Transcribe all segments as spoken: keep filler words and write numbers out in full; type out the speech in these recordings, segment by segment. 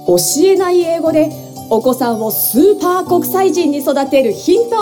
教えない英語でお子さんをスーパー国際人に育てるヒント。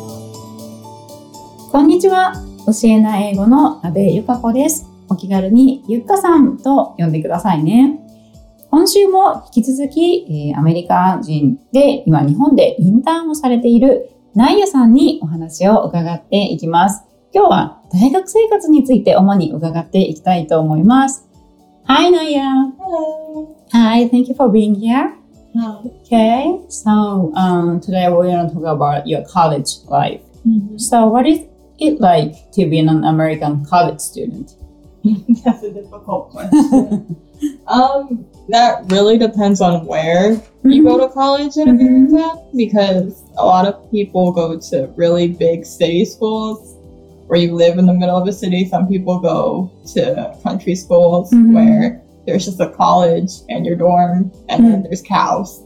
こんにちは。教えない英語の阿部ゆか子です。お気軽にゆっかさんと呼んでくださいね。今週も引き続き、えー、アメリカ人で今日本でインターンをされているナイヤさんにお話を伺っていきます。今日は大学生活について主に伺っていきたいと思います。Hi, Naya. Hello. Hi, thank you for being here. Hi. Okay, so um, today we're going to talk about your college life. Mm-hmm. So what is it like to be an American college student? That's a difficult question. um, that really depends on where mm-hmm. you go to college in America, mm-hmm. because a lot of people go to really big city schools where you live in the middle of a city. Some people go to country schools mm-hmm. where there's just a college and your dorm, and mm-hmm. then there's cows.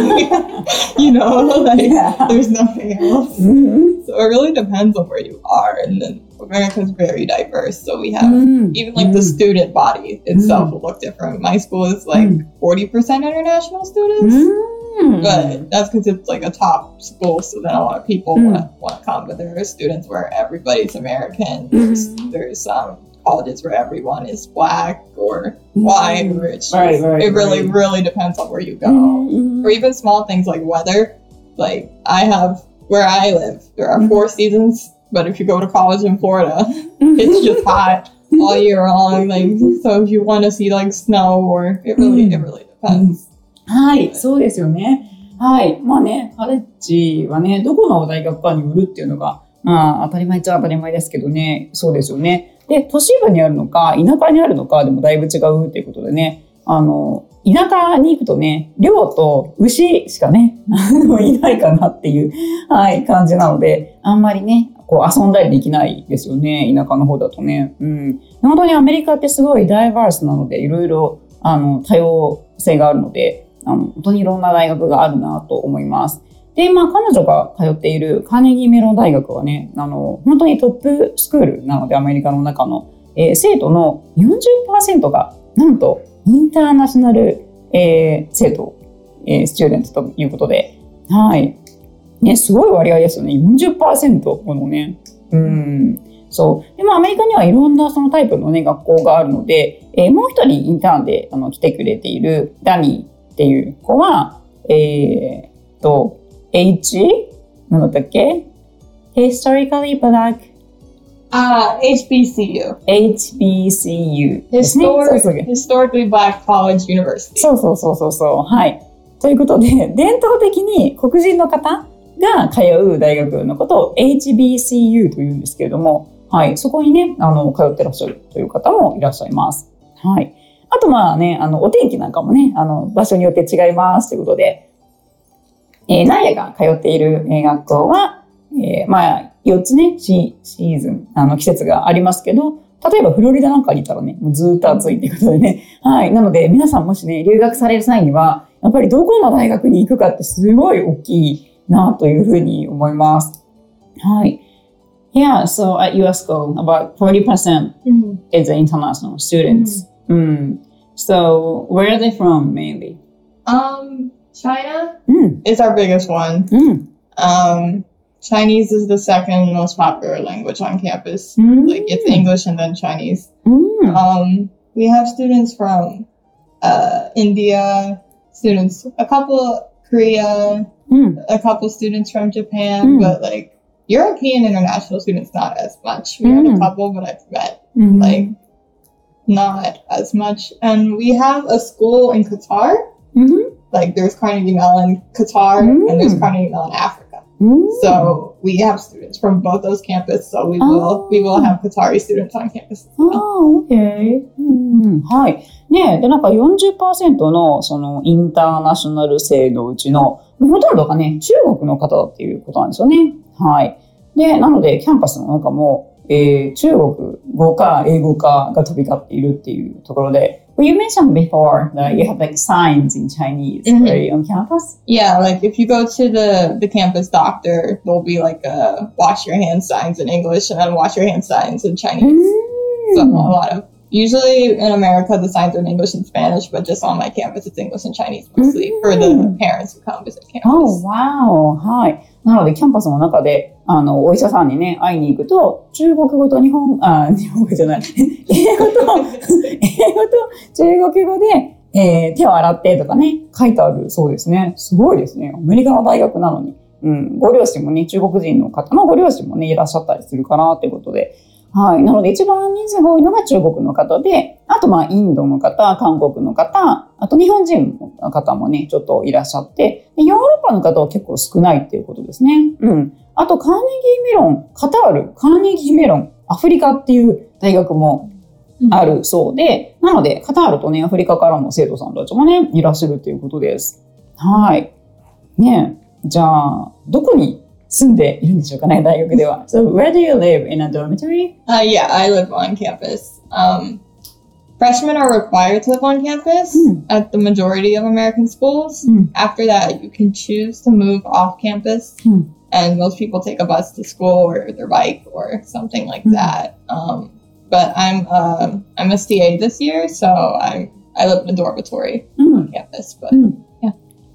you know, like yeah. there's nothing else. Mm-hmm. So it really depends on where you are. And then America's very diverse. So we have mm-hmm. even like mm-hmm. the student body itself mm-hmm. will look different. My school is like mm-hmm. forty percent international students. Mm-hmm. But that's because it's like a top school, so then a lot of people mm. want, want to come. But there are students where everybody's American. There's, mm-hmm. there's um, colleges where everyone is black or white, or it's just, right, right, it really, right. really depends on where you go. Mm-hmm. Or even small things like weather. Like I have, where I live, there are mm-hmm. four seasons. But if you go to college in Florida, it's just hot all year long. Like, so if you want to see like snow, or it really, mm-hmm. it really depends. はい、そうですよね。はい。まあね、カレッジはね、どこの大学かによるっていうのが、まあ当たり前っちゃ当たり前ですけどね、そうですよね。で、都市部にあるのか、田舎にあるのかでもだいぶ違うっていうことでね、あの、田舎に行くとね、寮と牛しかね、いないかなっていう、はい、感じなので、あんまりね、こう遊んだりできないですよね、田舎の方だとね。うん。本当にアメリカってすごいダイバースなので、いろいろ、あの、多様性があるので、あの、本当にいろんな大学があるなと思います。で、まあ、彼女が通っているカーネギーメロン大学はね、あの、本当にトップスクールなので、アメリカの中の、えー、生徒の よんじゅっパーセント が、なんと、インターナショナル、えー、生徒、えー、スチューデントということで、はい。ね、すごい割合ですよね。よんじゅっパーセント このね。うん。そう。でもアメリカにはいろんなそのタイプのね、学校があるので、えー、もう一人インターンであの来てくれているダニー、っていう子は、えー、と、H? なんだったっけ ?Historically Black? あ、uh, エイチビーシーユー。 エイチビーシーユー ですね。 Historic, Historically Black College University. そうそうそうそうそう。はい。ということで、伝統的に黒人の方が通う大学のことを エイチビーシーユー というんですけれども、はい。そこにね、あの、通ってらっしゃるという方もいらっしゃいます。はい。あとまあね、あの、お天気なんかもね、あの、場所によって違いますということで、えー、ナイヤが通っている学校は、えー、まあ、よっつね、シ, シーズン、あの、季節がありますけど、例えばフロリダなんかにいたらね、もうずっと暑いということでね、はい。なので、皆さんもしね、留学される際には、やっぱりどこの大学に行くかってすごい大きいなというふうに思います。はい。Yeah, so at your school, about forty percent mm-hmm. is international students. Mm-hmm. Mm. So, where are they from mainly? Um, China mm. is our biggest one. Mm. Um, Chinese is the second most popular language on campus. Mm. Like, it's English and then Chinese. Mm. Um, we have students from uh, India, students, a couple Korea, mm. a couple students from Japan, mm. but like European international students, not as much. We mm. had a couple, but I've met mm. like not as much. And we have a school in Qatar. Mm-hmm. Like there's Carnegie Mellon Qatar mm. and there's Carnegie Mellon Africa. Mm. So we have students from both those campuses. So we will oh. we will have Qatari students on campus as well. Oh, okay. うん、はい。ねえ、で、なんか よんじゅっパーセント のそのインターナショナル生のうちのほとんどがね、中国の方だっていうことなんですよね。はい。で、なのでキャンパスの中も、えー、中国語か英語かが飛び交っているっていうところで、Well, you mentioned before that you have like signs in Chinese, mm-hmm. right, on campus? Yeah, like if you go to the, the campus doctor, there'll be like a wash your hands signs in English and then wash your hands signs in Chinese. Mm. So a lot of usually in America, the signs are in English and Spanish, but just on my campus, it's English and Chinese mostly for the parents who come visit campus. Oh, wow. はい。なので、キャンパスの中で、あの、お医者さんにね、会いに行くと、中国語と日本、あ、日本語じゃない。英語と、英語と中国語で、えー、手を洗ってとかね、書いてあるそうですね。すごいですね。アメリカの大学なのに。うん。ご両親もね、中国人の方のご両親もね、いらっしゃったりするかなっていうことで。はい。なので一番人数が多いのが中国の方で、あとまあインドの方、韓国の方、あと日本人の方もね、ちょっといらっしゃって、でヨーロッパの方は結構少ないっていうことですね。うん。あとカーネギーメロン、カタール、カーネギーメロン、アフリカっていう大学もあるそうで、なのでカタールとね、アフリカからも生徒さんたちもね、いらっしゃるっていうことです。はい。ねえ、じゃあ、どこに住んでいるんでしょうかね、大学では。So, where do you live? In a dormitory? Uh, yeah, I live on campus. Um, freshmen are required to live on campus Mm. at the majority of American schools. Mm. After that, you can choose to move off campus, Mm. and most people take a bus to school or their bike or something like Mm. that. Um, but I'm uh, I'm a C A this year, so I'm I live in a dormitory on campus. But Mm. yeah.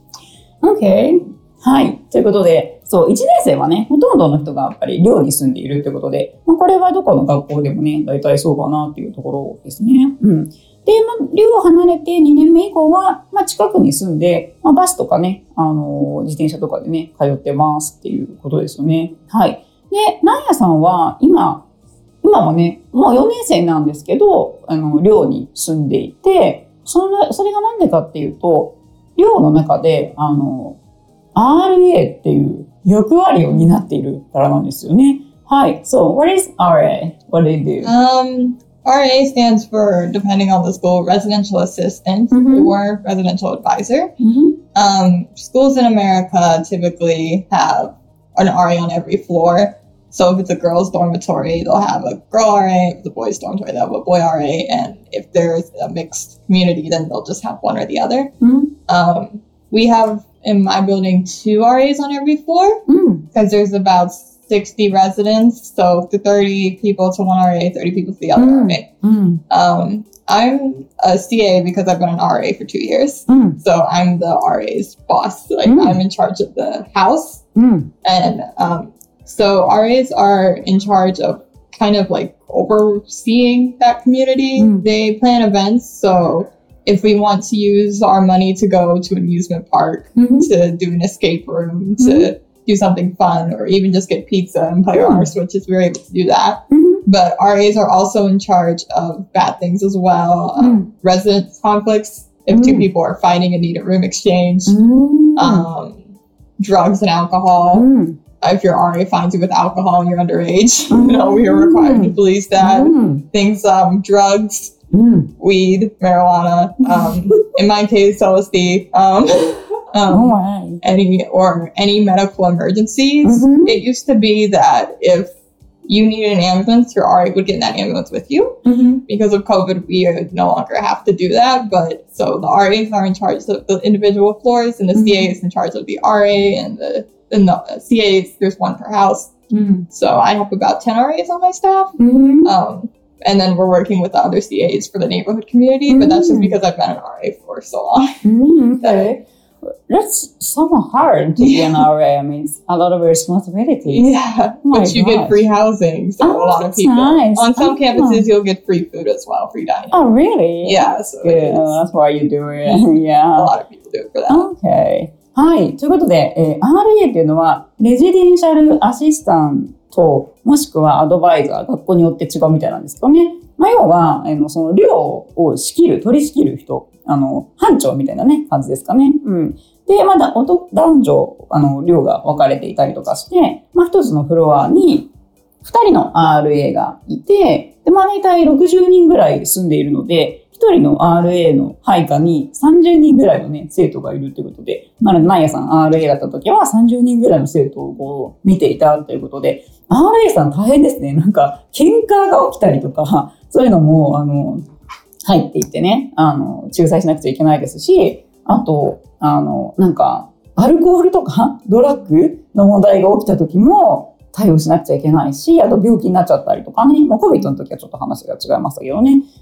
Okay. はい。ということで、そう、いちねん生はね、ほとんどの人がやっぱり寮に住んでいるということで、まあ、これはどこの学校でもね、大体そうかなっていうところですね。うん。で、まあ、寮を離れてにねんめ以降は、まあ、近くに住んで、まあ、バスとかね、あのー、自転車とかでね、通ってますっていうことですよね。はい。で、ナンヤさんは今、今もね、もうよねん生なんですけど、あの、寮に住んでいて、それ、それがなんでかっていうと、寮の中で、あの、アールエー っていう役割を担っているからなんですよね。はい。So, what is アールエー? What do you do? Um, R A stands for, depending on the school, residential assistant Mhm. or residential advisor. Mm-hmm. Um, schools in America typically have an R A on every floor. So if it's a girls' dormitory, they'll have a girl R A. If it's a boys' dormitory, they'll have a boy R A. And if there's a mixed community, then they'll just have one or the other. Mm-hmm. Um, we have, in my building, two R As on every floor because there's about sixty residents. So to thirty people to one R A, thirty people to the other Mm. R A. Mm-hmm. Um, I'm a C A because I've been an R A for two years. Mm-hmm. So I'm the R A's boss. Like Mm. I'm in charge of the house. Mm-hmm. And um, so R As are in charge of kind of like overseeing that community. Mm. They plan events. So if we want to use our money to go to an amusement park, Mm-hmm. to do an escape room, to do something fun, or even just get pizza and play on our Switches, we're able to do that. Mm-hmm. But R As are also in charge of bad things as well. Um, resident conflicts, if two Mm. people are fighting and need a room exchange. Mm-hmm. Um, drugs and alcohol. Mm-hmm. If your R A finds you with alcohol and you're underage, you know, we are required to police that. Mm-hmm. Things, um, drugs, Mm-hmm. weed, marijuana, um, in my case, L S D, um, um, Oh, wow. any, or any medical emergencies. Mhm. It used to be that if you needed an ambulance, your R A would get in that ambulance with you. Mm-hmm. Because of COVID, we no longer have to do that. But so the R As are in charge of the individual floors, and the Mhm. C A is in charge of the R A, and the, and the C As, there's one per house. Mm-hmm. So I have about ten R As on my staff. Mm-hmm. Um, and then we're working with the other C As for the neighborhood community, but that's just Mm. because I've been an R A for so long. Mm, okay. That's somewhat hard to be an R A. I mean, it's a lot of responsibilities. Yeah, Oh my but you gosh. get free housing, so Oh, a lot of that's people. nice. On some Oh. campuses, you'll get free food as well, free dining. Oh, really? Yeah, so Good. it's, Oh, that's why you do it. a Yeah. lot of people do it for that. Okay. はい。ということで、えー アールエー っていうのは、レジデンシャルアシスタント、もしくはアドバイザー、学校によって違うみたいなんですけどね。まあ、要は、あの、その寮を仕切る、取り仕切る人、あの、班長みたいなね、感じですかね。うん。で、まだ、男女、あの、寮が分かれていたりとかして、まあ、一つのフロアに、二人の アールエー がいて、で、まあ、大体ろくじゅうにんぐらい住んでいるので、一人の アールエー の配下にさんじゅうにんぐらいのね、生徒がいるということで、なので、ナイヤさん アールエー だった時はさんじゅうにんぐらいの生徒をこう見ていたということで、アールエー さん大変ですね。なんか、喧嘩が起きたりとか、そういうのも、あの、入っていってね、あの、仲裁しなくちゃいけないですし、あと、あの、なんか、アルコールとかドラッグの問題が起きた時も対応しなくちゃいけないし、あと病気になっちゃったりとかね、まあ、コビッドの時はちょっと話が違いましたけどね。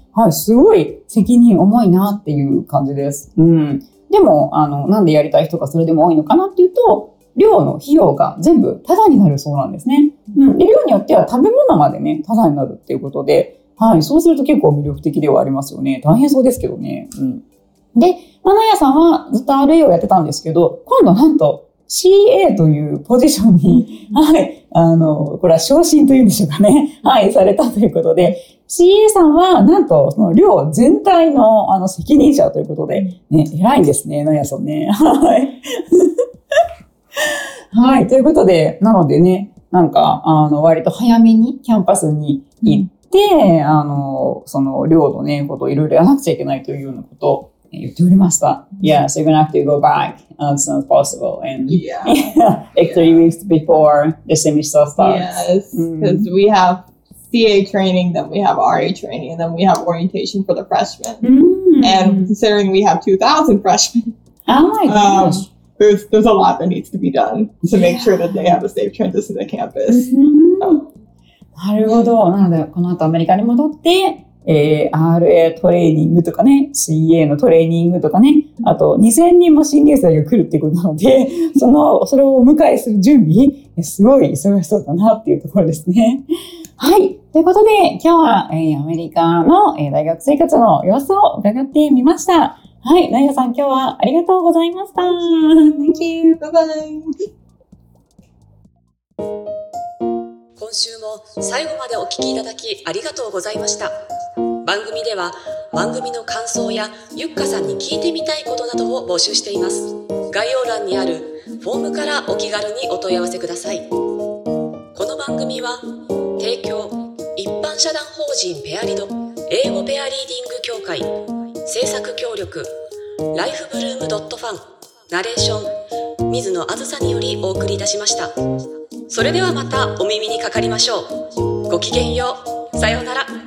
はい、すごい責任重いなっていう感じです。うん。でも、あの、なんでやりたい人がそれでも多いのかなっていうと、寮の費用が全部タダになるそうなんですね。うん。で、寮によっては食べ物までね、タダになるっていうことで、はい、そうすると結構魅力的ではありますよね。大変そうですけどね。うん。で、まあ、ナヤさんはずっと アールエー をやってたんですけど、今度なんと シーエー というポジションに、はい、あの、これは昇進というんでしょうかね。はい、されたということで、シーエー さんは、なんと、その寮全体の、あの、責任者ということで、ね、偉いんですね、ナヤさんね。はい。はい、ということで、なのでね、なんか、あの、割と早めにキャンパスに行って、あの、その寮のね、ことをいろいろやらなくちゃいけないというようなことを言っておりました。Yeah, so you're gonna have to go back as soon as possible and Yeah. like three weeks before the semester starts. Yes, because we have C A training, then we have R A training, and then we have orientation for the freshmen. Mm. And considering we have two thousand freshmen, Oh my um, gosh. there's there's a lot that needs to be done to make sure that they have a safe transition to campus. なるほど。なので、この後アメリカに戻って、えー、アールエー トレーニングとかね、シーエー のトレーニングとかね、あとにせんにんも新入生が来るっていうことなので、その、それをお迎えする準備、すごい忙しそうだなっていうところですね。はい。ということで、今日は、えー、アメリカの、えー、大学生活の様子を伺ってみました。はい。ナヤさん、今日はありがとうございました。Thank you. Bye bye. 今週も最後までお聞きいただきありがとうございました。番組では番組の感想やゆっかさんに聞いてみたいことなどを募集しています。概要欄にあるフォームからお気軽にお問い合わせください。この番組は提供一般社団法人ペアリド英語ペアリーディング協会制作協力ライフブルームドットファンナレーション水野あずさによりお送りいたしました。それではまたお耳にかかりましょう。ごきげんよう。さようなら。